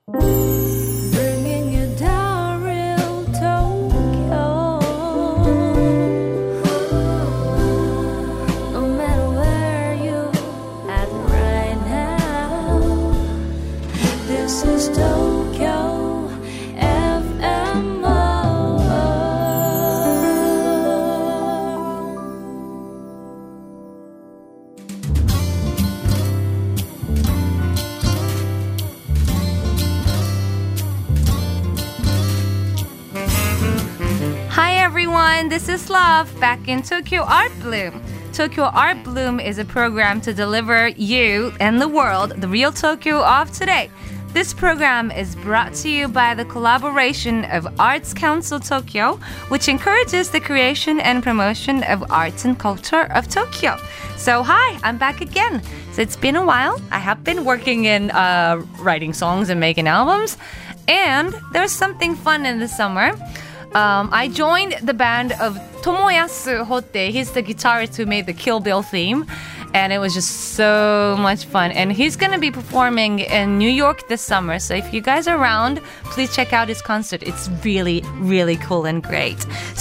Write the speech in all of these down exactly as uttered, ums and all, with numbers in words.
Bringing you down real Tokyo. No matter where you at right now, this is Tokyo F M O. Hi everyone, this is Love back in Tokyo Art Bloom. Tokyo Art Bloom is a program to deliver you and the world the real Tokyo of today. This program is brought to you by the collaboration of Arts Council Tokyo, which encourages the creation and promotion of arts and culture of Tokyo. So hi, I'm back again. So it's been a while. I have been working in uh, writing songs and making albums, and there's something fun in the summer. Um, I joined the band of Tomoyasu Hotte. He's the guitarist who made the Kill Bill theme. And it was just so much fun. And he's going to be performing in New York this summer. So if you guys are around, please check out his concert. It's really, really cool and great.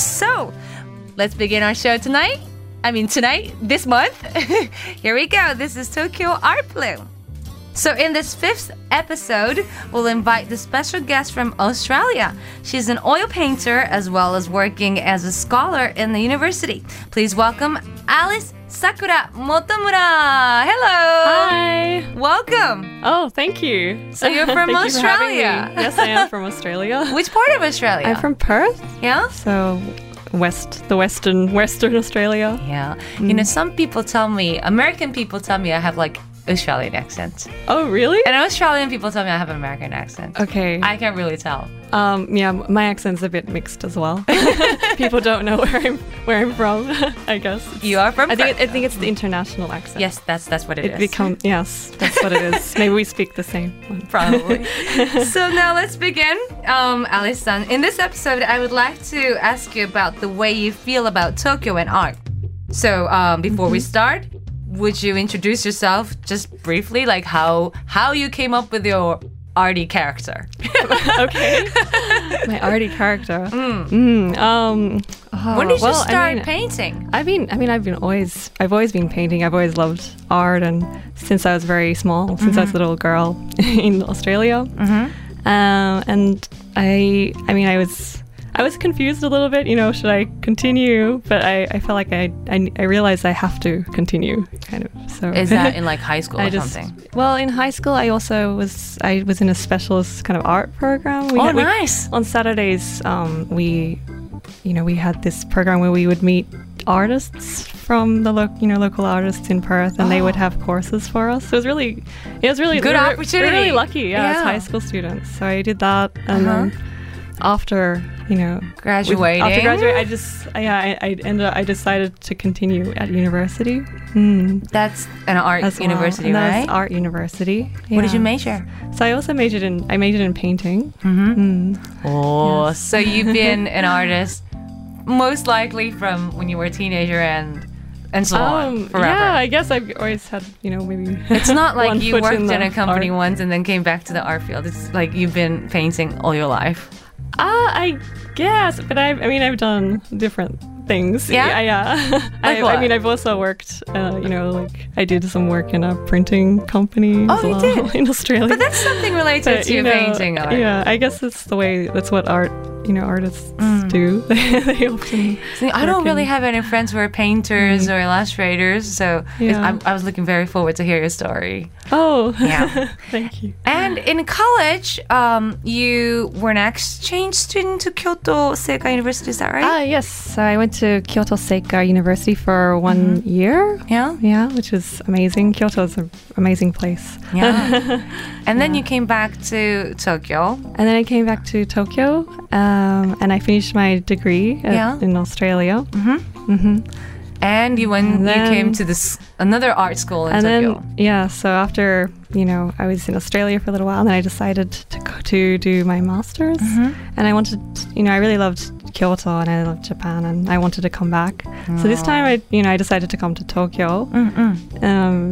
So let's begin our show tonight. I mean, tonight, this month. Here we go. This is Tokyo Art Bloom. So in this fifth episode, we'll invite the special guest from Australia. She's an oil painter as well as working as a scholar in the university. Please welcome Alice Sakura Motomura. Hello. Hi. Welcome. Oh, thank you. So you're from Thank Australia. You for having me. Yes, I am from Australia. Which part of Australia? I'm from Perth. Yeah? So west, the western, western Australia. Yeah. Mm. You know, some people tell me, American people tell me I have like Australian accent. Oh, really? And Australian people tell me I have an American accent. Okay. I can't really tell. Um, yeah, my accent's a bit mixed as well. People don't know where I'm where I'm from. I guess it's, you are from. I think it, I think it's the international accent. Yes, that's that's what it, it is. Become yes, that's what it is. Maybe we speak the same one. Probably. So now let's begin, um, Alice-san. In this episode, I would like to ask you about the way you feel about Tokyo and art. So um, before mm-hmm. we start, would you introduce yourself just briefly, like how how you came up with your arty character? Okay, my arty character. Mm. Mm, um, oh, when did you well, start I mean, painting? I mean, I mean, I've been always, I've always been painting. I've always loved art, and since I was very small, since mm-hmm. I was a little girl in Australia, mm-hmm. um, and I, I mean, I was. I was confused a little bit, you know, should I continue? But I, I felt like I, I I realized I have to continue, kind of. So is that in like high school or I just, something? Well, in high school, I also was I was in a specialist kind of art program. We oh, had, we, nice! On Saturdays, um, we, you know, we had this program where we would meet artists from the lo- you know local artists in Perth, and oh. they would have courses for us. So it was really, it was really good we were, opportunity. We were really lucky, yeah, yeah, as high school students. So I did that, and uh-huh. then. After you know graduating, with, after graduating, I just yeah I, I ended up, I decided to continue at university. Mm. That's an art As university, well. right? That's art university. Yeah. What did you major? So I also majored in I majored in painting. Mm-hmm. Mm. Oh, yes. So you've been an artist most likely from when you were a teenager and. And so um, on, forever. Yeah, I guess I've always had, you know, maybe. It's not like you worked in, in a company art. once and then came back to the art field. It's like you've been painting all your life. Ah, uh, I guess, but I, I mean, I've done different things. Yeah, yeah. yeah. Like I, what? I mean, I've also worked. Uh, you know, like I did some work in a printing company. Oh, as you well, did in Australia. But that's something related but, to you know, painting art. Yeah, I guess it's the way. That's what art. You know, artists mm. do. They often. See, I don't really have any friends who are painters mm. or illustrators, so yeah. I, I was looking very forward to hear your story. Oh, yeah. Thank you. And in college, um, you were an exchange student to Kyoto Seika University, is that right? Ah, yes. So I went to Kyoto Seika University for one mm-hmm. year. Yeah? Yeah, which was amazing. Kyoto is an amazing place. Yeah. And then yeah. you came back to Tokyo. And then I came back to Tokyo, um, and I finished my degree at, yeah. in Australia. Mm-hmm. Mm-hmm. And you went, and then, you came to this another art school in and Tokyo. Then, yeah, so after, you know, I was in Australia for a little while, and then I decided to go to do my master's. Mm-hmm. And I wanted, you know, I really loved Kyoto and I loved Japan, and I wanted to come back. Oh. So this time, I, you know, I decided to come to Tokyo. Um,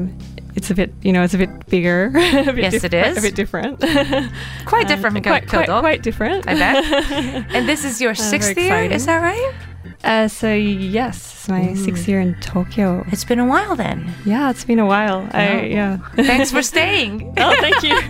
it's a bit, you know, it's a bit bigger. a bit Yes, diff- it is. A bit different. Quite different from quite, quite, Kyoto. quite different. I bet. And this is your sixth very year, exciting. is that right? Uh, so yes, it's my sixth year in Tokyo. It's been a while then. Yeah, it's been a while. I yeah. Thanks for staying. Oh, thank you.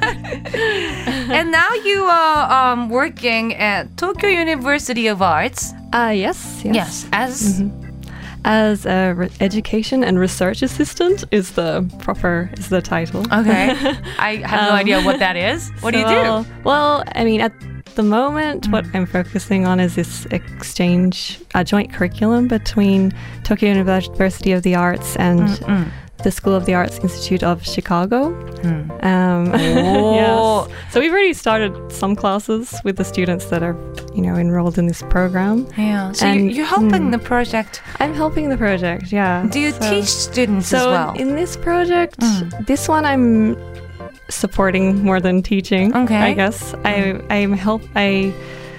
And now you are um, working at Tokyo University of Arts. Uh, yes, yes. Yes, as As a re- education and research assistant is the proper is the title. okay. I have no Um, idea what that is. What do you do? So, well, I mean, at the moment, what I'm focusing on is this exchange, a joint curriculum between Tokyo University of the Arts and the School of the Arts Institute of Chicago. Um, Oh. yes. So we've already started some classes with the students that are, you know, enrolled in this program. Yeah. So you, And, you're helping mm. the project. I'm helping the project, yeah. Do you So- teach students So as well? in this project, this one I'm supporting more than teaching. Okay. I guess I I'm help I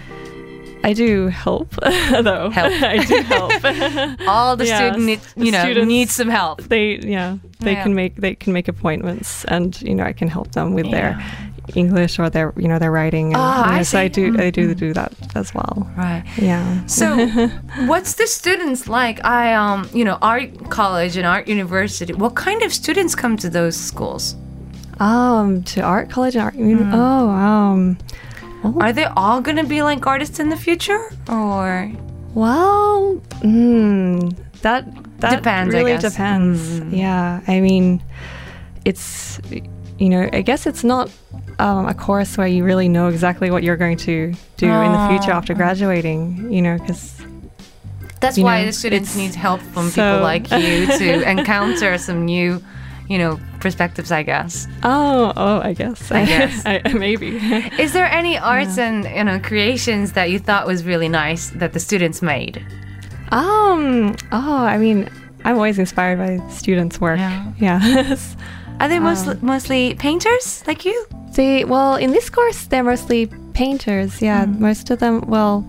I do help though. Help. I do help. All the Yes, students need, the you know, students- need some help. they yeah they Yeah. can make they can make appointments, and you know I can help them with their English or their you know their writing. And, Ah, you I know, so I see. do I do do that as well. Right. Yeah. So, what's the students like? I um, you know, art college and art university. What kind of students come to those schools? Um, to art college and art. uni- Oh, um. Are they all gonna be like artists in the future, or Well, mm, that that Depends, I really guess. depends. Yeah, I mean, it's you know, I guess it's not um, a course where you really know exactly what you're going to do in the future Oh. after graduating. You know, because that's You why know, the students it's- need help from so- people like you to encounter some new, you know, perspectives, I guess. oh oh, I guess I guess. I, maybe. Is there any arts and you know creations that you thought was really nice that the students made? um. Oh, I mean, I'm always inspired by students' work. Yeah. Yeah. Are they mostly mostly painters like you? They well in this course they're mostly painters. Yeah, most of them. Well,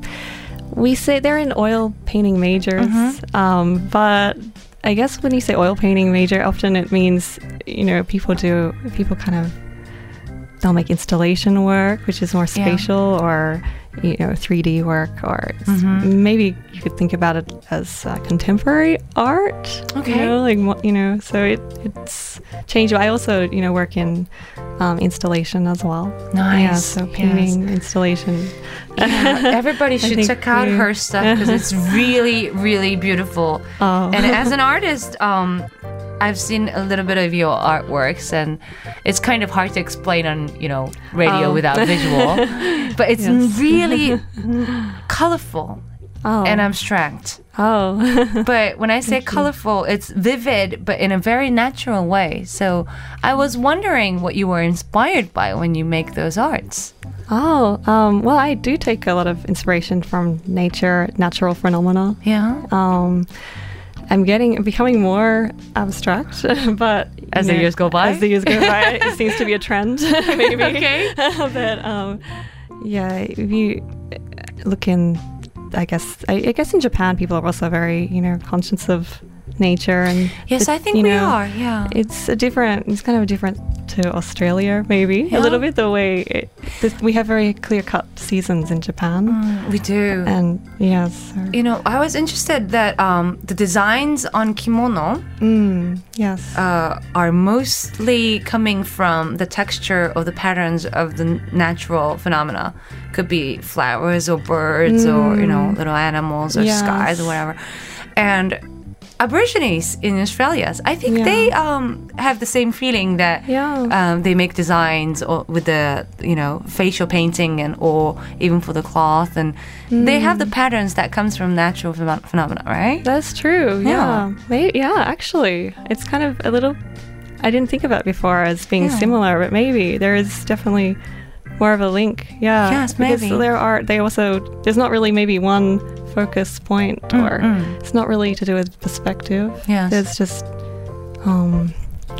we say they're in oil painting majors, um, but I guess when you say oil painting major, often it means you know people do people kind of they'll make installation work, which is more Yeah. spatial, or you know three D work, or it's- maybe you could think about it as uh, contemporary art. Okay. You know, like mo- you know, so it it's changed. I also you know work in um, installation as well. Yeah, Nice, so yes. painting, installation. Yeah, everybody should think check out we- her stuff because it's really, really beautiful. Oh. And as an artist, um, I've seen a little bit of your artworks, and it's kind of hard to explain on you know radio Oh. without visual, but it's Yes. really colorful Oh. and abstract. oh. But when I say colorful, it's vivid, but in a very natural way. So I was wondering what you were inspired by when you make those arts. oh. Um, well, I do take a lot of inspiration from nature, natural phenomena. Yeah. Um, I'm getting becoming more abstract, but As you the know, years go by? as the years go by, it seems to be a trend, maybe. Okay. but um, yeah, if you look in, I guess, I, I guess in Japan, people are also very, you know, conscious of nature and. Yes, the- I think you we know, are. Yeah. It's a different. It's kind of different to Australia, maybe Yeah. a little bit. The way it, this, we have very clear-cut seasons in Japan, We do. and yes, so, You know, I was interested that um, the designs on kimono mm, yes. uh, are mostly coming from the texture of the patterns of the n- natural phenomena. Could be flowers or birds or, you know, little animals or Yes. skies or whatever. And Aborigines in Australia, I think Yeah. they um, have the same feeling that Yeah. um, they make designs or with the you know facial painting and or even for the cloth, and they have the patterns that comes from natural phenom- phenomena, right? That's true. Yeah. Yeah. May yeah, actually, it's kind of a little. I didn't think of it before as being Yeah. similar, but maybe there is definitely more of a link. Yeah. Yes, because maybe. there are. They also. There's not really maybe one focus point, or Mm-mm. it's not really to do with perspective. Yes. It's just. Um.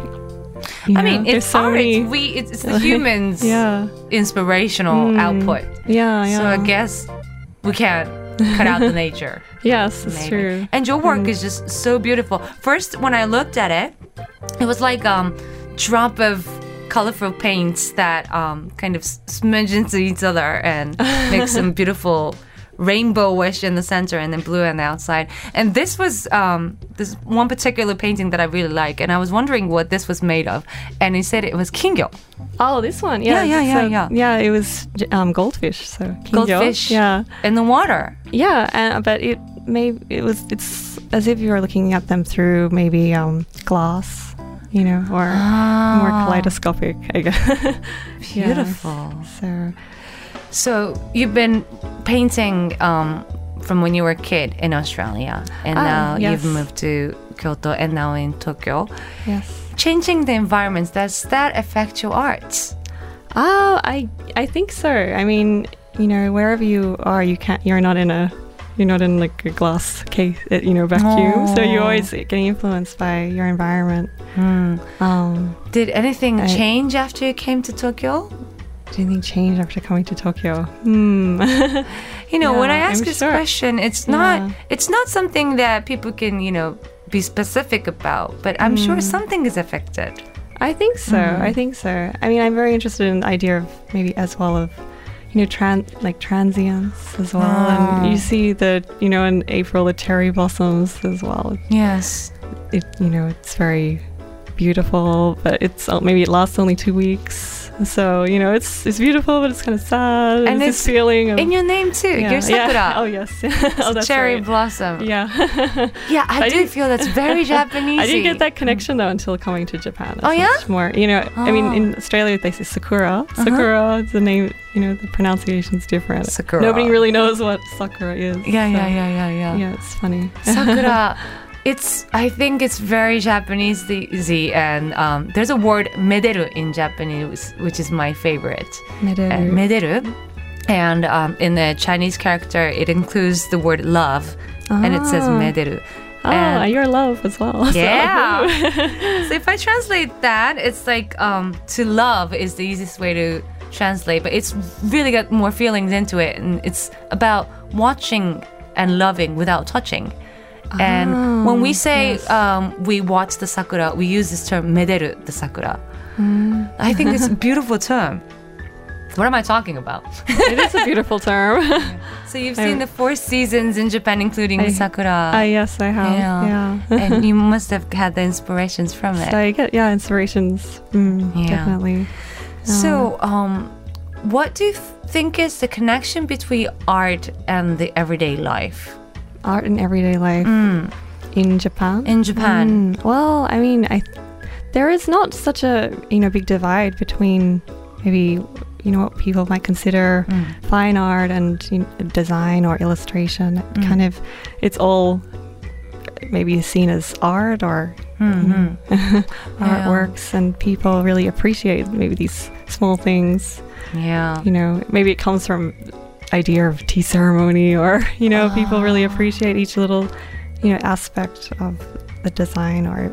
you I know, mean, there's it's so art. many- We it's, it's the humans' Yeah. inspirational Mm. output. Yeah. Yeah. So I guess we can't cut out the nature. Yes, it's Maybe. true. And your work is just so beautiful. First, when I looked at it, it was like um, drop of colorful paints that um, kind of smudge into each other and make some beautiful rainbowish in the center and then blue on the outside. And this was um, this one particular painting that I really like, and I was wondering what this was made of. And he said it was kingyo. Oh, this one. Yeah, Yeah, yeah, yeah, so- yeah. Yeah, it was um, goldfish. So kingyo. Goldfish Yeah. in the water. Yeah, uh, but it may it was it's as if you were looking at them through maybe um, glass, you know, or more kaleidoscopic, I guess. Yeah, Beautiful. So So you've been painting um, from when you were a kid in Australia, and Ah, now yes. you've moved to Kyoto and now in Tokyo. yes. Changing the environments, does that affect your arts? Oh, I I think so. I mean, you know, wherever you are, you can't. You're not in a. You're not in like a glass case, uh, you know, vacuum. So you're Oh. always getting influenced by your environment. Um, Did anything I- change after you came to Tokyo? do anything change after coming to Tokyo? Hmm. You know, when I Yeah, ask I'm this sure. question, it's not Yeah. it's not something that people can, you know, be specific about, but I'm sure Hmm. something is affected. I think so. I think so. I mean, I'm very interested in the idea of maybe as well of, you know, tran like transience as well. Ah. And you see the, you know, in April the cherry blossoms as well. Yes. It, you know, it's very beautiful, but it's uh, maybe it lasts only two weeks. So you know, it's it's beautiful, but it's kind of sad. And And it's, it's this feeling of In your name too. yeah, You're Sakura. yeah. Oh yes. oh, that's Cherry right. blossom. Yeah. Yeah, I, I do didn't- feel that's very Japanese. I didn't get that connection though until coming to Japan. It's Oh, yeah? much more, you know. I mean, Oh. in Australia they say Sakura. Sakura is the name. You know, the pronunciation's different. Sakura. Nobody really knows what Sakura is. Yeah, so, yeah, yeah, yeah, yeah. Yeah, it's funny. Sakura. It's. I think it's very Japanese, easy, and um, there's a word "mederu" in Japanese, which is my favorite. Mederu. Uh, mederu, and um, in the Chinese character, it includes the word love, and it says Ah. mederu. Oh, And- your love as well. so- Yeah. So if I translate that, it's like um, to love is the easiest way to translate, but it's really got more feelings into it, and it's about watching and loving without touching. And Ah, when we say yes. um, we watch the sakura, we use this term "mederu" the sakura. Mm. I think it's a beautiful term. What am I talking about? It is a beautiful term. So you've I- seen the four seasons in Japan, including I- the sakura. Ah, yes, I have. Yeah. Yeah. And you must have had the inspirations from it. So I get yeah inspirations. Mm, Yeah. Definitely. So, um, what do you th- think is the connection between art and the everyday life Art in everyday life in Japan. in Japan? Mm, well, I mean, I there is not such a you know big divide between maybe you know what people might consider fine art and you know, design or illustration. It kind of it's all maybe seen as art or Mhm. artworks, and people really appreciate maybe these small things. Yeah. You know, maybe it comes from idea of tea ceremony, or you know, people really appreciate each little you know aspect of the design, or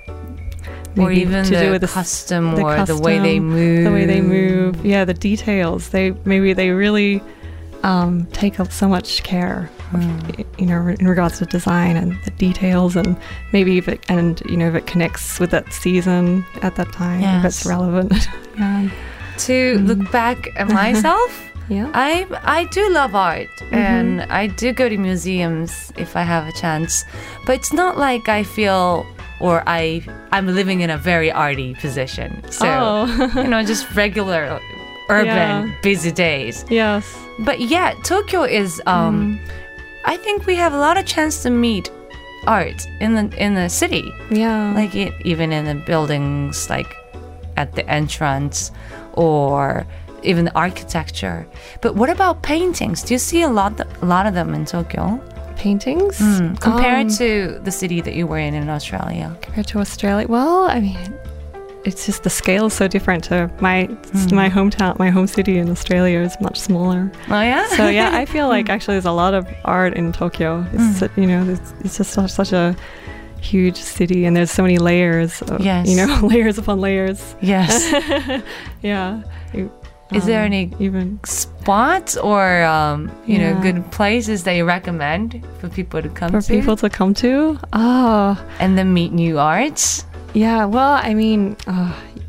Or maybe even to the do with the s- custom the or the way they custom, move. the way they move. Yeah, the details. They maybe they really um, take up so much care, of, Hmm. you know, in regards to design and the details, and maybe if it and you know if it connects with that season at that time, if it's Yes. relevant. yeah. To look back at myself, Yeah. I I do love art, Mm-hmm. and I do go to museums if I have a chance. But it's not like I feel or I I'm living in a very arty position. So Oh. you know, just regular urban Yeah. busy days. Yes. But yeah, Tokyo is. Um, I think we have a lot of chance to meet art in the in the city, Yeah. like it, even in the buildings, like at the entrance, or even the architecture. But what about paintings? Do you see a lot a lot of them in Tokyo paintings compared Um, to the city that you were in in Australia? compared to Australia. Well, I mean, it's just the scale is so different to my my hometown, my home city in Australia is much smaller. Oh yeah. So yeah, I feel like actually there's a lot of art in Tokyo. It's su- you know, it's, it's just such, such a huge city, and there's so many layers. Of, Yes. You know, layers upon layers. Yes. Yeah. You- Is there um, any even spots or um, you know Yeah. good places that you recommend for people to come for to people to come to? Oh, and then meet new arts? yeah. Well, I mean, uh,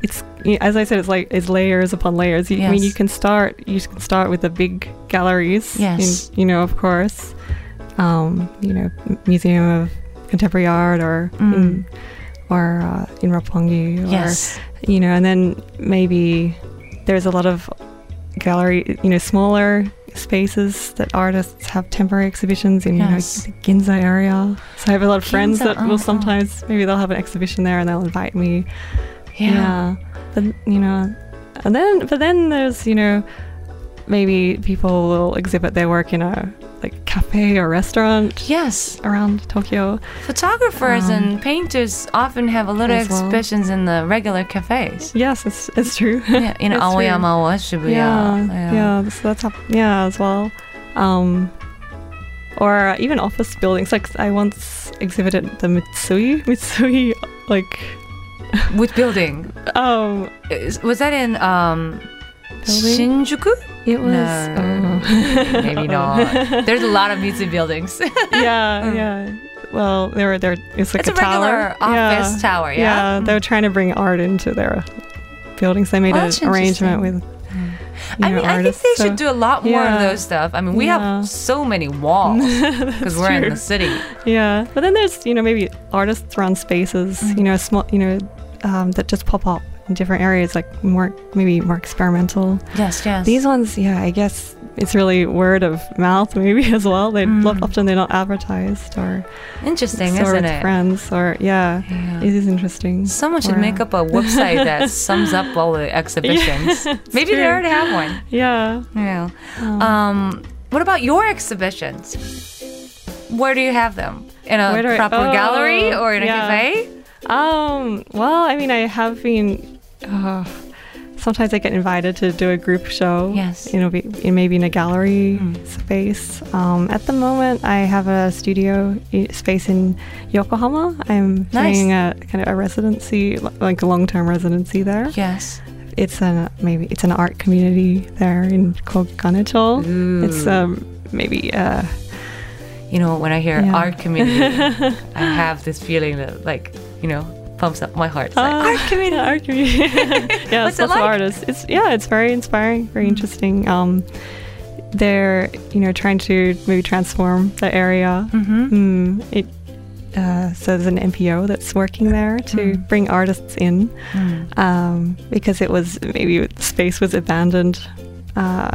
it's as I said, it's like it's layers upon layers. You, I mean, Yes. you can start you can start with the big galleries. Yes. in, you know, of course, um, you know, M- Museum of Contemporary Art or Mm. in, or uh, in Roppongi, or Yes. you know, and then maybe there's a lot of gallery, you know, smaller spaces that artists have temporary exhibitions in, Yes. you know, the Ginza area. So I have a lot of friends Ginza, that oh, oh. will sometimes, maybe they'll have an exhibition there and they'll invite me. Yeah. But, you know, and then, but then there's, you know, maybe people will exhibit their work in a, like, cafe or restaurant Yes. around Tokyo. Photographers Um, and painters often have a lot of as well. exhibitions in the regular cafes. Yes, it's, it's true. Yeah, in That's true. Aoyama or Shibuya. Yeah, yeah, so that's hap- yeah as well. Um, or uh, even office buildings. Like I once exhibited the Mitsui, Mitsui, like Which building? um, Is- Was that in um, Building? Shinjuku? it was No. oh. Maybe not. There's a lot of Mitsui buildings. yeah, yeah. Well, they were there. It's like It's a tower. regular office yeah. tower, yeah? Yeah, they were trying to bring art into their buildings. They made Oh, an that's arrangement with. you I know, mean, I think artists, they so- should do a lot more of Yeah. those stuff. I mean, we Yeah. have so many walls because we're in true. the city. Yeah, but then there's you know maybe artists run spaces, Mm-hmm. you know, small, you know, um, that just pop up in different areas, like more maybe more experimental. Yes, yes. These ones, yeah, I guess it's really word of mouth maybe as well. They Mm. often they're not advertised or Interesting, or isn't with it? friends or yeah, Yeah. it is interesting. Someone should Or, make uh, up a website that sums up all the exhibitions. Maybe they true. already have one. Yeah. Yeah. Um, Um, what about your exhibitions? Where do you have them? In a Where do I- proper oh, maybe or in a yeah. cafe? Um, well, I mean, I have been. Uh, sometimes I get invited to do a group show. Yes. You know, be, in, maybe in a gallery Mm. space. Um, at the moment, I have a studio i- space in Yokohama. I'm Nice. doing a kind of a residency, li- like a long-term residency there. Yes. It's an maybe it's an art community there in called Ganecho. Ooh. It's um maybe uh You know, when I hear Yeah. art community, I have this feeling that, like, you know, pumps up my heart. It's like, Ah, art community. yeah, art community. yeah, What's it's it lots of like? artists. It's yeah, it's very inspiring, very interesting. Um, they're you know trying to maybe transform the area. Mm-hmm. Mm, it uh, so there's an N P O that's working there to Mm. bring artists in Mm. um, because it was maybe the space was abandoned uh,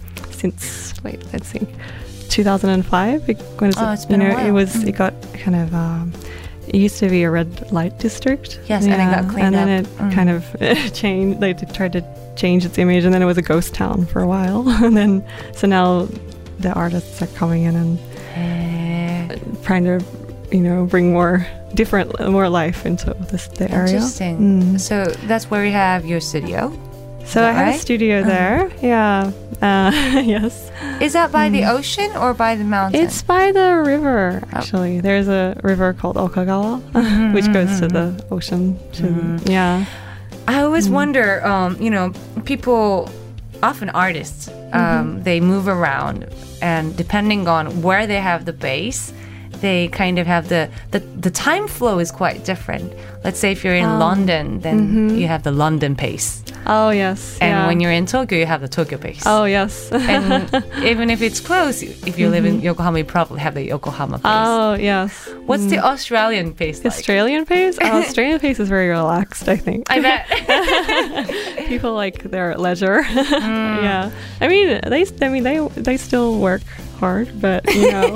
since wait let's see two thousand five. It, when Oh, it, it's been you a know while. it was Mm. it got kind of. Um, it used to be a red light district. Yes, and it got cleaned and then up. it Mm. kind of changed. They did- tried to change its image, and then it was a ghost town for a while. and then, so now the artists are coming in and Eh, trying to, you know, bring more different, more life into this the area. Interesting. Mm. So that's where we have your studio. So that I have right? a studio Uh-huh. there. Yeah. Uh, yes. Is that by the ocean or by the mountain? Mm. It's by the river, Oh. actually. There's a river called Okagawa, Mhm, which goes to mhm, the ocean. To, Mhm. Yeah. I always Mm. wonder, um, you know, people, often artists, um, Mm-hmm. they move around, and depending on where they have the base, they kind of have the, the, the time flow is quite different. Let's say if you're in Oh. London, then Mhm. you have the London pace. Oh, yes. And yeah. when you're in Tokyo, you have the Tokyo pace. Oh, yes. And even if it's close, if you live in Yokohama, you probably have the Yokohama pace. Mm-hmm. oh, yes. What's Mm. the Australian pace like? Australian pace? Oh, Australian pace is very relaxed, I think. I bet. People like their leisure. Mm. Yeah. I mean, they I mean they they still work hard, but you know,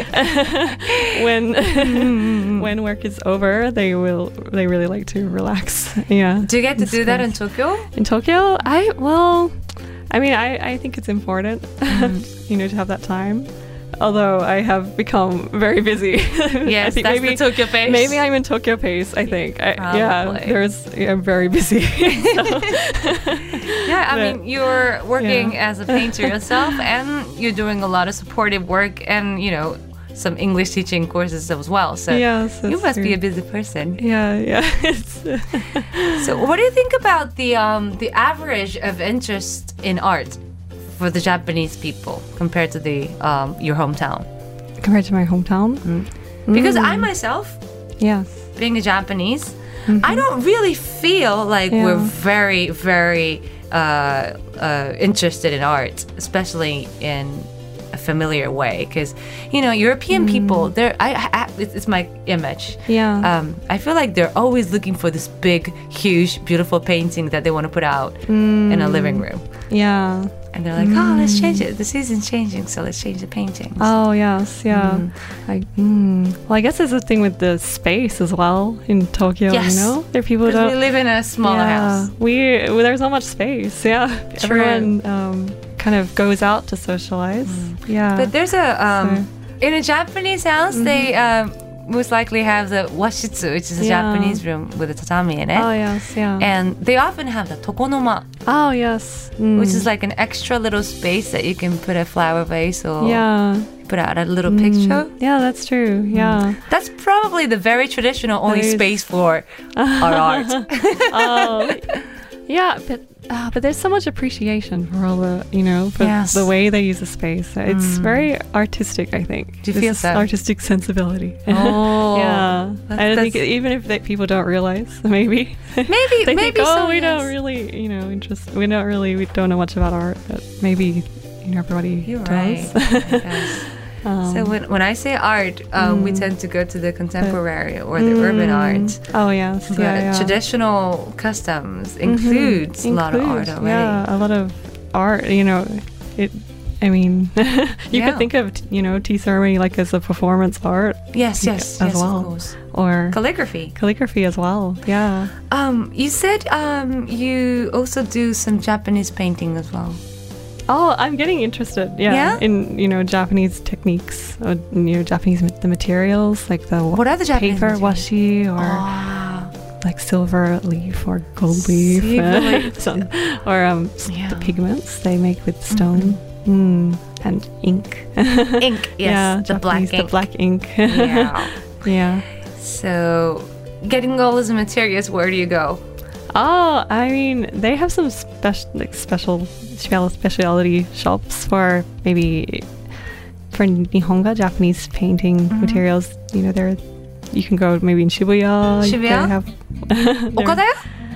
when when work is over, they will they really like to relax. Yeah. Do you get to It's do that in fun. Tokyo? In Tokyo? I well, I mean, I I think it's important, Mm. you know, to have that time. Although I have become very busy. I Yes, think that's maybe, the Tokyo pace. Maybe I'm in Tokyo pace. I think. I, yeah, Probably. there's. I'm very busy. So. Yeah, I But- mean, you're working Yeah. as a painter yourself, and you're doing a lot of supportive work, and you know, some English teaching courses as well. So Yes, you that's must be true. a busy person. Yeah, yeah. It's, So, what do you think about the um, the average of interest in art for the Japanese people compared to the um, your hometown? compared to my hometown. Because Mm. I myself, Yes. being a Japanese, I don't really feel like Yeah. we're very, very uh, uh, interested in art, especially in a familiar way. Because, you know, European people, they're, I, I, it's, it's my image. Yeah. Um, I feel like they're always looking for this big, huge, beautiful painting that they want to put out in a living room. Yeah. And they're like, oh, let's change it. The season's changing, so let's change the paintings. Oh yes, yeah. I, mm. Well, I guess there's a thing with the space as well in Tokyo. Yes. You know, there are people who Because we don't. live in a smaller yeah, house. we well, there's not much space. Yeah, True. everyone um, kind of goes out to socialize. Yeah, But there's a um, in a Japanese house, they um, most likely have the washitsu, which is a Yeah. Japanese room with a tatami in it. oh yes, yeah. And they often have the tokonoma, oh yes, mm. which is like an extra little space that you can put a flower vase or yeah, put out a little Mm. picture. yeah, that's true. Yeah. That's probably the very traditional only That is- space for our art. Oh, yeah, but uh, but there's so much appreciation for all the you know for Yes. the way they use the space. It's very artistic, I think. Do you This feel is so? Artistic sensibility. Oh, yeah. that's- I think that's- even if that people don't realize, maybe Maybe, they maybe think, oh, so, we yes. don't really, you know, interest. We don't really, we don't know much about art, but maybe you know everybody You're does. right. Yes. Um, So when, when I say art, um, we tend to go to the contemporary or the urban art. Oh yes, But yeah, yeah. traditional customs includes a lot of art Includes, already. Yeah, a lot of art. You know, it. I mean, you Yeah. could think of you know tea ceremony like as a performance art Yes, yes, as yes, well, of course. or Calligraphy. calligraphy as well. Yeah. Um, you said um, you also do some Japanese painting as well. Oh, I'm getting interested. Yeah, Yeah? in you know Japanese techniques, or, you know Japanese ma- the materials like the What are the Japanese paper materials? washi or Ah, like silver leaf or gold leaf, Silver leaf. Some- or um s- Yeah. the pigments they make with stone. Mm. And ink. ink, yes, yeah, the black Japanese- ink. The black ink. Yeah. yeah. So, getting all those materials, where do you go? Oh, I mean, they have some special, like special, special specialty shops for maybe for Nihonga, Japanese painting materials. You know, there, you can go maybe in Shibuya. Shibuya? They have, there- Okadaya?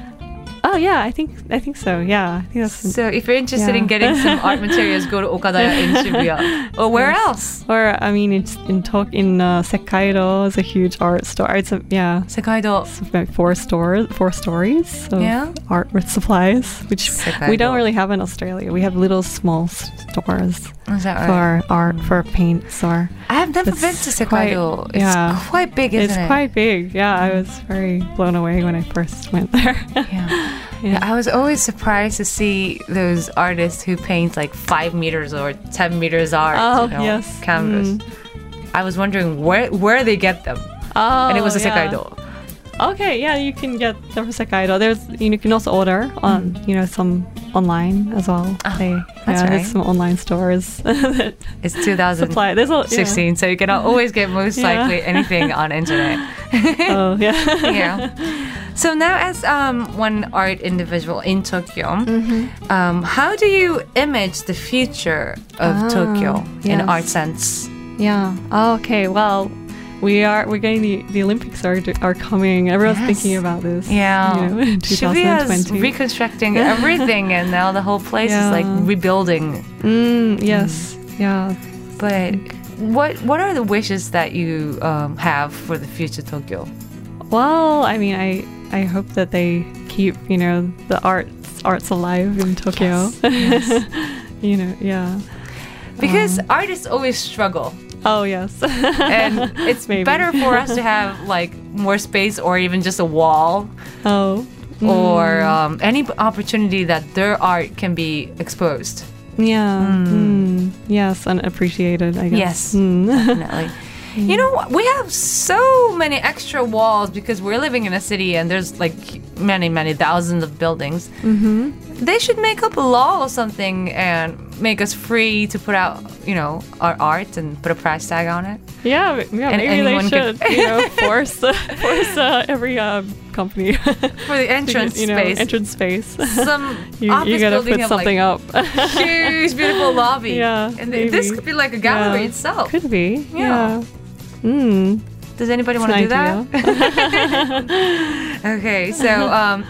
Oh yeah, I think I think so. Yeah, I think that's. So if you're interested in Yeah. getting some art materials, go to Okadaya in Shibuya. Or where else? Or I mean, it's in Tok in uh, Sekkaido is a huge art store. It's a yeah. Sekaido. It's about four stores, four stories of Yeah. art with supplies, which Sekkaido. we don't really have in Australia. We have little small s- stores Is that right? for art, for paints, or I have never It's been to quite- Sekaido. It's yeah. quite big, isn't it's it? quite big. Yeah, I was very blown away when I first went there. Yeah. Yeah. I was always surprised to see those artists who paint like five meters or ten meters art. Oh, you know, yes. canvas. Mm. I was wondering where where they get them, Oh, and it was a yeah. Sekaido. Okay, yeah, you can get them from Sekkaido. There's you can also order on you know some online as well. Oh, they, that's yeah, right. there's some online stores that It's two thousand supply. There's a yeah. sixteen, so you can always get most Yeah. likely anything on internet. Oh yeah. Yeah. So now, as um, one art individual in Tokyo, Mm-hmm. um, how do you image the future of Ah, Tokyo in yes. art sense? Yeah. Oh, okay. Well, we are. We're getting the the Olympics are are coming. Everyone's Yes. thinking about this. Yeah. You know, Shibuya is twenty twenty. reconstructing everything, and now the whole place is like Yeah. rebuilding. Mm, yes. Yeah. But what what are the wishes that you um, have for the future Tokyo? Well, I mean, I I hope that they keep you know the arts arts alive in Tokyo. Yes, you know. Yeah. Because Um, artists always struggle, Oh yes. and it's Maybe. better for us to have like more space, or even just a wall, Oh. or um, any opportunity that their art can be exposed. Yeah. Mm. Yes, and appreciated. I guess. Yes. Mm. Definitely. You know what? We have so many extra walls because we're living in a city and there's like many, many thousands of buildings. Mm-hmm. They should make up a law or something and make us free to put out, you know, our art and put a price tag on it. Yeah, m- yeah. And Maybe they anyone should, could- you know, force uh, force uh, every uh, company For the entrance you know, space. entrance space. Some you, office you gotta building put have something like up. huge, beautiful lobby. Yeah, And th- this maybe. could be like a gallery Yeah. itself. Could be. Yeah. Yeah. Mm. Does anybody It's want to an do idea. that? Okay, so um,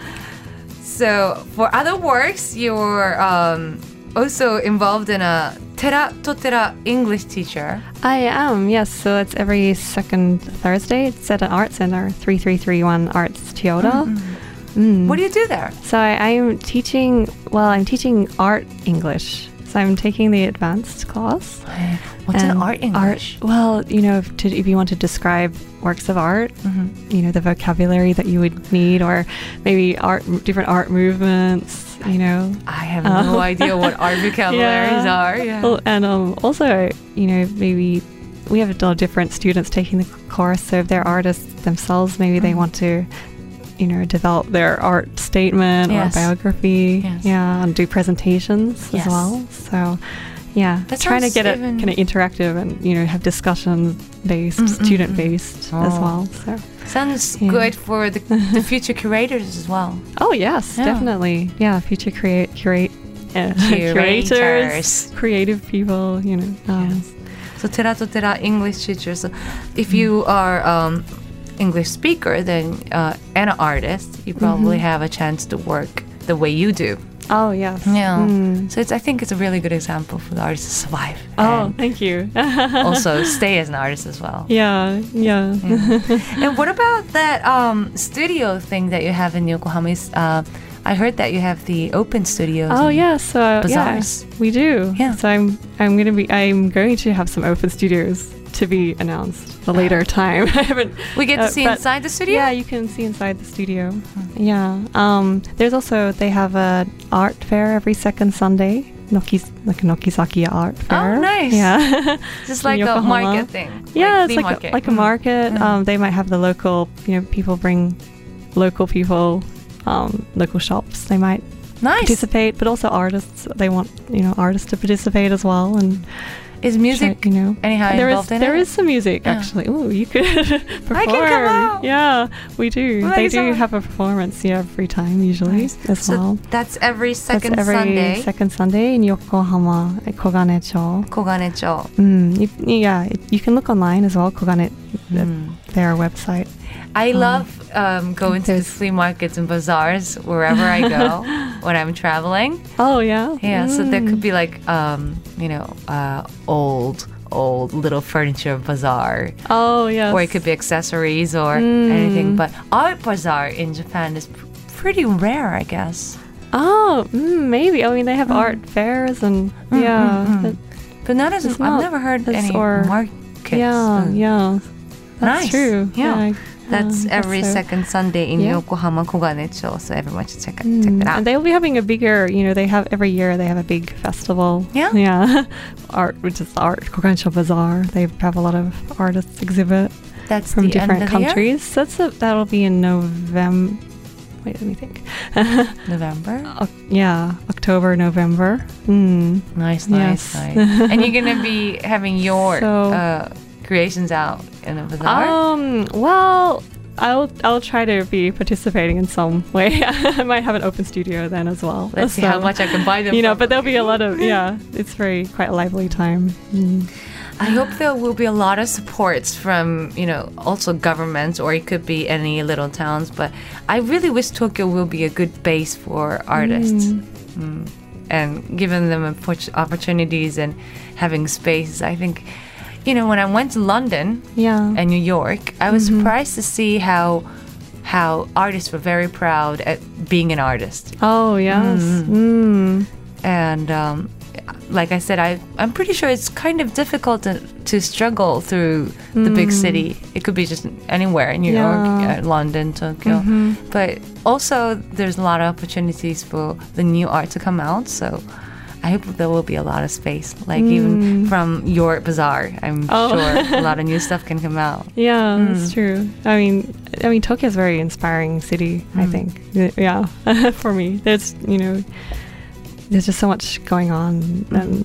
so for other works, you're um, also involved in a Tera Totera English teacher. I am, yes. So it's every second Thursday. It's at an art center, three three three one Arts Toyota. Mm. What do you do there? So I, I'm teaching, well, I'm teaching art English. So I'm taking the advanced class. What's an And art English? Art, well, you know, if, to, if you want to describe works of art, Mm-hmm. you know, the vocabulary that you would need, or maybe art, different art movements, you know. I have Uh, no idea what art vocabularies Yeah. are. Yeah. Well, and um, also, you know, maybe we have a lot of different students taking the course. So if they're artists themselves, maybe they Mhm. want to, you know, develop their art statement Yes. or biography. Yes. Yeah, and do presentations Yes. as well. So, yeah, That trying to sounds get it even- kind of interactive and, you know, have discussion based, Mm, mm, student mm. based Oh. as well. So, Sounds Yeah. good for the, the future curators as well. oh yes, Yeah. definitely. Yeah, future create curate uh, Curators. curators, creative people. You know. Um, Yes. So Tera Totera English teacher. So if you are um, English speaker, then uh, and an artist, you probably Mm-hmm. have a chance to work the way you do. Oh yes. Yeah. Mm. So it's, I think it's a really good example for the artist to survive. Oh, and thank you. also stay as an artist as well. Yeah, yeah. And what about that um, studio thing that you have in Yokohama? Is, Uh, I heard that you have the open studios. Oh and- yeah, so yeah, bazaars. we do. Yeah. So I'm I'm gonna be I'm going to have some open studios to be announced a later time. I haven't. We get to uh, see but- inside the studio? Yeah, you can see inside the studio. Yeah. Um. There's also they have a art fair every second Sunday. Noki like a Nokizaki art fair. Oh, nice. Yeah. Just in like a Yokohama. market thing. Yeah, flea it's like market. a, like a Mm. market. Mm. Um, they might have the local, you know, people bring local people, um, local shops. They might Nice. participate, but also artists. They want, you know, artists to participate as well. And Is music try- you know, anyhow there is involved in there it? is some music Yeah. actually. Oh, you could perform. I can come out. Yeah, we do. Well, they thank you do so much. have a performance. Yeah, every time usually Nice. as So well. that's every second That's every Sunday. second Sunday in Yokohama at Koganecho. Koganecho. Mm, you, yeah, it, you can look online as well. Kogane, Mm. their website. I love um, going to the there's- flea markets and bazaars wherever I go when I'm traveling. Oh yeah. Yeah, so there Mm. could be like, um, you know, uh, old, old little furniture bazaar. Oh yes. Or it could be accessories or Mm. anything. But art bazaar in Japan is pr- pretty rare, I guess. Oh, mm, maybe. I mean, they have art fairs and Mm, yeah. mm, mm. but- But not as, It's I've not never heard as- any or- markets. yeah, Mm. yeah. That's Nice. true. Yeah. I- That's um, I guess every so. second Sunday in Yeah. Yokohama Koganecho, so everyone should check, it Mm, check it out. And they'll be having a bigger, you know, they have every year they have a big festival. Yeah? Yeah. Art, which is art, Kogansho Bazaar. They have a lot of artists exhibit That's from the end different of the year? countries. That's a, that'll be in November. Wait, let me think. November. Oc- yeah, October, November. Mm. Nice, nice, Yes. nice. And you're gonna be having your So- uh, creations out in the bazaar. Um. Well, I'll I'll try to be participating in some way. I might have an open studio then as well. Let's see So, how much I can buy them. You know, for. but there'll be a lot of yeah. It's very quite a lively time. Mm. I hope there will be a lot of supports from, you know, also governments, or it could be any little towns. But I really wish Tokyo will be a good base for artists. Mm. And giving them oppor- opportunities and having spaces. I think, you know, when I went to London Yeah. and New York, I was surprised to see how how artists were very proud at being an artist. Oh yes. Mm. And um, like I said, I, I'm pretty sure it's kind of difficult to, to struggle through the big city. It could be just anywhere, New Yeah. York, uh, London, Tokyo. But also, there's a lot of opportunities for the new art to come out. So I hope there will be a lot of space. Like even from your bazaar, I'm Oh. sure a lot of new stuff can come out. Yeah, Mm. that's true. I mean, I mean, Tokyo is a very inspiring city. I Mm. think. Y- Yeah, for me, there's you know, there's just so much going on, and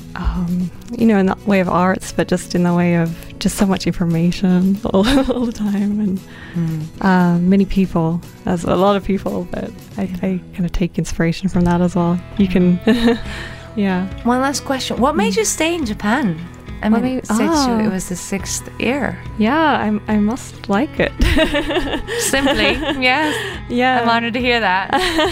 um, you know, in the way of arts, but just in the way of just so much information all, all the time, and Mm. uh, many people, as a lot of people. But I, I kind of take inspiration from that as well. You can, yeah. One last question: what made you stay in Japan? I Well, mean, maybe- Seichu, ah. it was the sixth year. Yeah, I I must like it. Simply, yes. Yeah. I'm honored to hear that.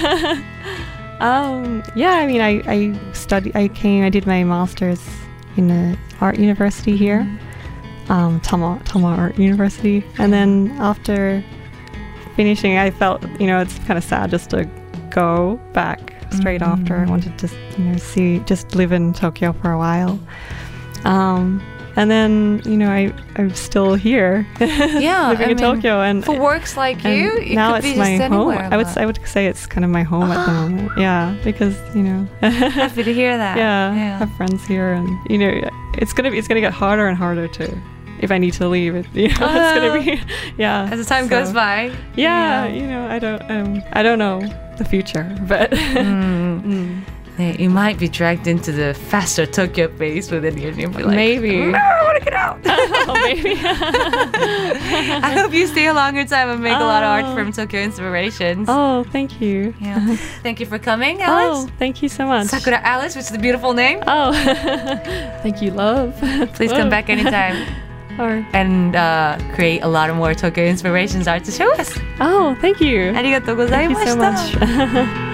Um, yeah, I mean, I, I studied, I came, I did my master's in a art university here, um, Tama, Tama Art University. And then after finishing, I felt, you know, it's kind of sad just to go back straight after. I wanted to, you know, see, just live in Tokyo for a while. Um, and then, you know, I, I'm still here, Yeah, living I in mean, Tokyo. And For works like and you, it now could it's be my just home. anywhere. I would but I would say it's kind of my home at the moment. Yeah, because you know, happy to hear that. yeah, yeah. I have friends here, and you know, it's gonna be it's gonna get harder and harder to if I need to leave. It you know, it's gonna be yeah. As the time so- goes by. Yeah, you know, I don't um I don't know the future, but Mm. Mm. Yeah, you might be dragged into the faster Tokyo pace within you, and you'll be like, Maybe. "No, I want to get out." oh, maybe. I hope you stay a longer time and make a lot of art Oh. from Tokyo Inspirations. oh, thank you. Yeah. Thank you for coming, Alice. Oh, thank you so much. Sakura Alice, which is a beautiful name. Oh, thank you, love. Please come back anytime Or, and uh, create a lot of more Tokyo Inspirations art to show us. oh, thank you. Thank you so ありがとうございました。 much.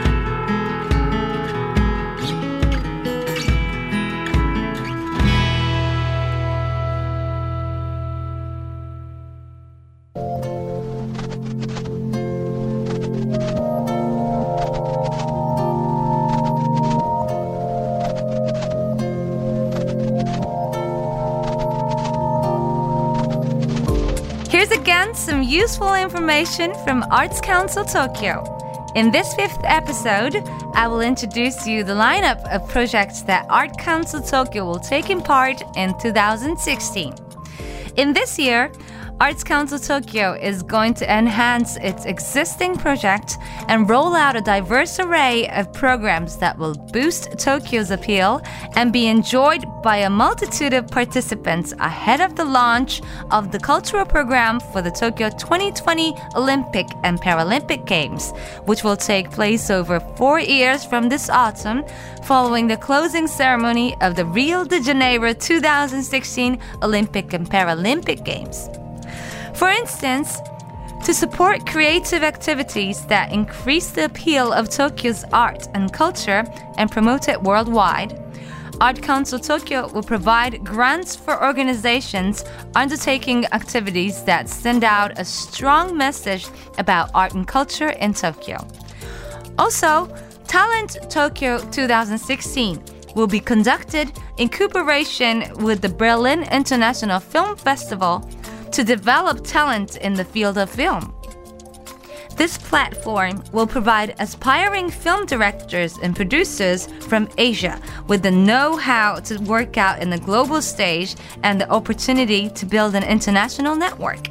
Here's again some useful information from Arts Council Tokyo. In this fifth episode, I will introduce you the lineup of projects that Art Council Tokyo will take in part in two thousand sixteen. In this year, Arts Council Tokyo is going to enhance its existing project and roll out a diverse array of programs that will boost Tokyo's appeal and be enjoyed by a multitude of participants ahead of the launch of the cultural program for the Tokyo twenty twenty Olympic and Paralympic Games, which will take place over four years from this autumn, following the closing ceremony of the Rio de Janeiro two thousand sixteen Olympic and Paralympic Games. For instance, to support creative activities that increase the appeal of Tokyo's art and culture and promote it worldwide, Art Council Tokyo will provide grants for organizations undertaking activities that send out a strong message about art and culture in Tokyo. Also, Talent Tokyo two thousand sixteen will be conducted in cooperation with the Berlin International Film Festival to develop talent in the field of film. This platform will provide aspiring film directors and producers from Asia with the know-how to work out in the global stage and the opportunity to build an international network.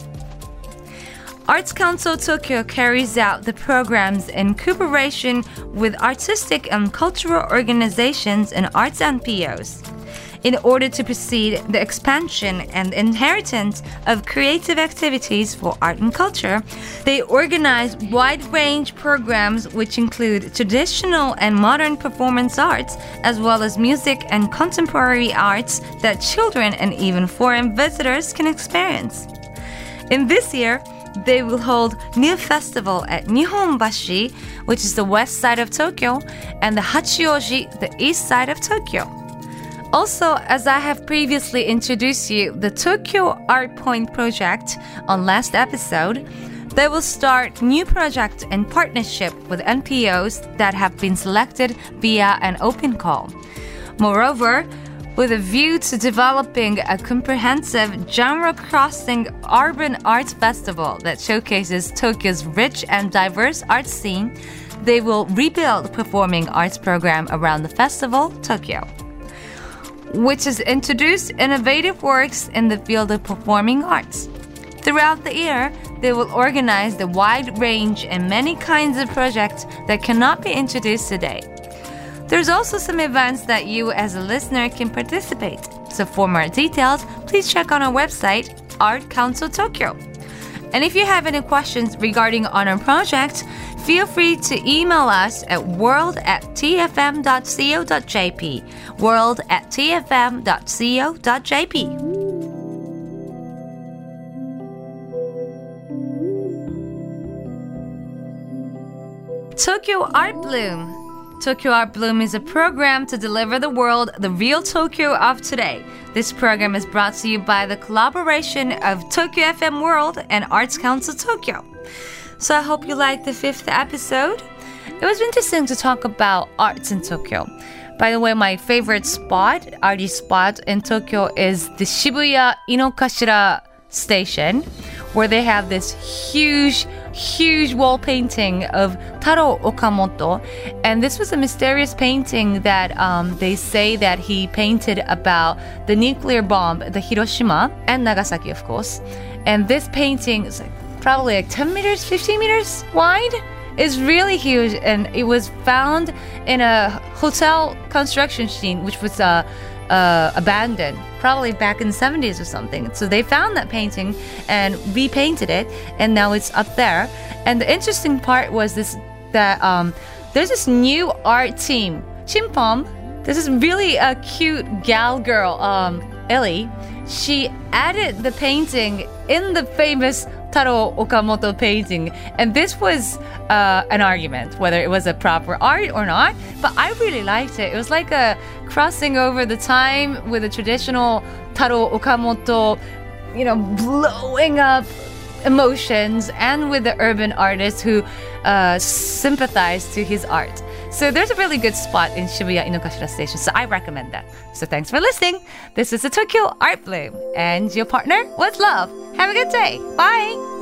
Arts Council Tokyo carries out the programs in cooperation with artistic and cultural organizations and arts N P Os. In order to proceed the expansion and inheritance of creative activities for art and culture, they organize wide-range programs which include traditional and modern performance arts, as well as music and contemporary arts that children and even foreign visitors can experience. In this year, they will hold New Festival at Nihonbashi, which is the west side of Tokyo, and the Hachioji, the east side of Tokyo. Also, as I have previously introduced you the Tokyo Art Point project on last episode, they will start new project in partnership with N P Os that have been selected via an open call. Moreover, with a view to developing a comprehensive genre-crossing urban arts festival that showcases Tokyo's rich and diverse art scene, they will rebuild performing arts program around the festival, Tokyo, which has introduced innovative works in the field of performing arts. Throughout the year, they will organize the wide range and many kinds of projects that cannot be introduced today. There's also some events that you as a listener can participate. So for more details, please check on our website, Art Council Tokyo. And if you have any questions regarding on our project, feel free to email us at world at t f m dot co dot j p. world at t f m dot co dot j p. Tokyo Art Bloom. Tokyo Art Bloom is a program to deliver the world the real Tokyo of today. This program is brought to you by the collaboration of Tokyo F M World and Arts Council Tokyo. So I hope you liked the fifth episode. It was interesting to talk about arts in Tokyo. By the way, my favorite spot, arty spot in Tokyo is the Shibuya Inokashira station, where they have this huge, huge wall painting of Taro Okamoto. And this was a mysterious painting that um, they say that he painted about the nuclear bomb, the Hiroshima and Nagasaki, of course. And this painting is like probably like ten meters, fifteen meters wide. It's really huge, and it was found in a hotel construction scene, which was uh, uh, abandoned, probably back in the seventies or something. So they found that painting and repainted it, and now it's up there. And the interesting part was this: that um, there's this new art team, Chimpom. This is really a cute gal girl, um, Ellie. She added the painting in the famous Taro Okamoto painting, and this was uh, an argument whether it was a proper art or not, but I really liked it. It was like a crossing over the time with the traditional Taro Okamoto, you know, blowing up emotions, and with the urban artists who uh, sympathize to his art. So there's a really good spot in Shibuya Inokashira Station, so I recommend that. So thanks for listening. This is the Tokyo Art Bloom, and your partner was Love. Have a good day. Bye.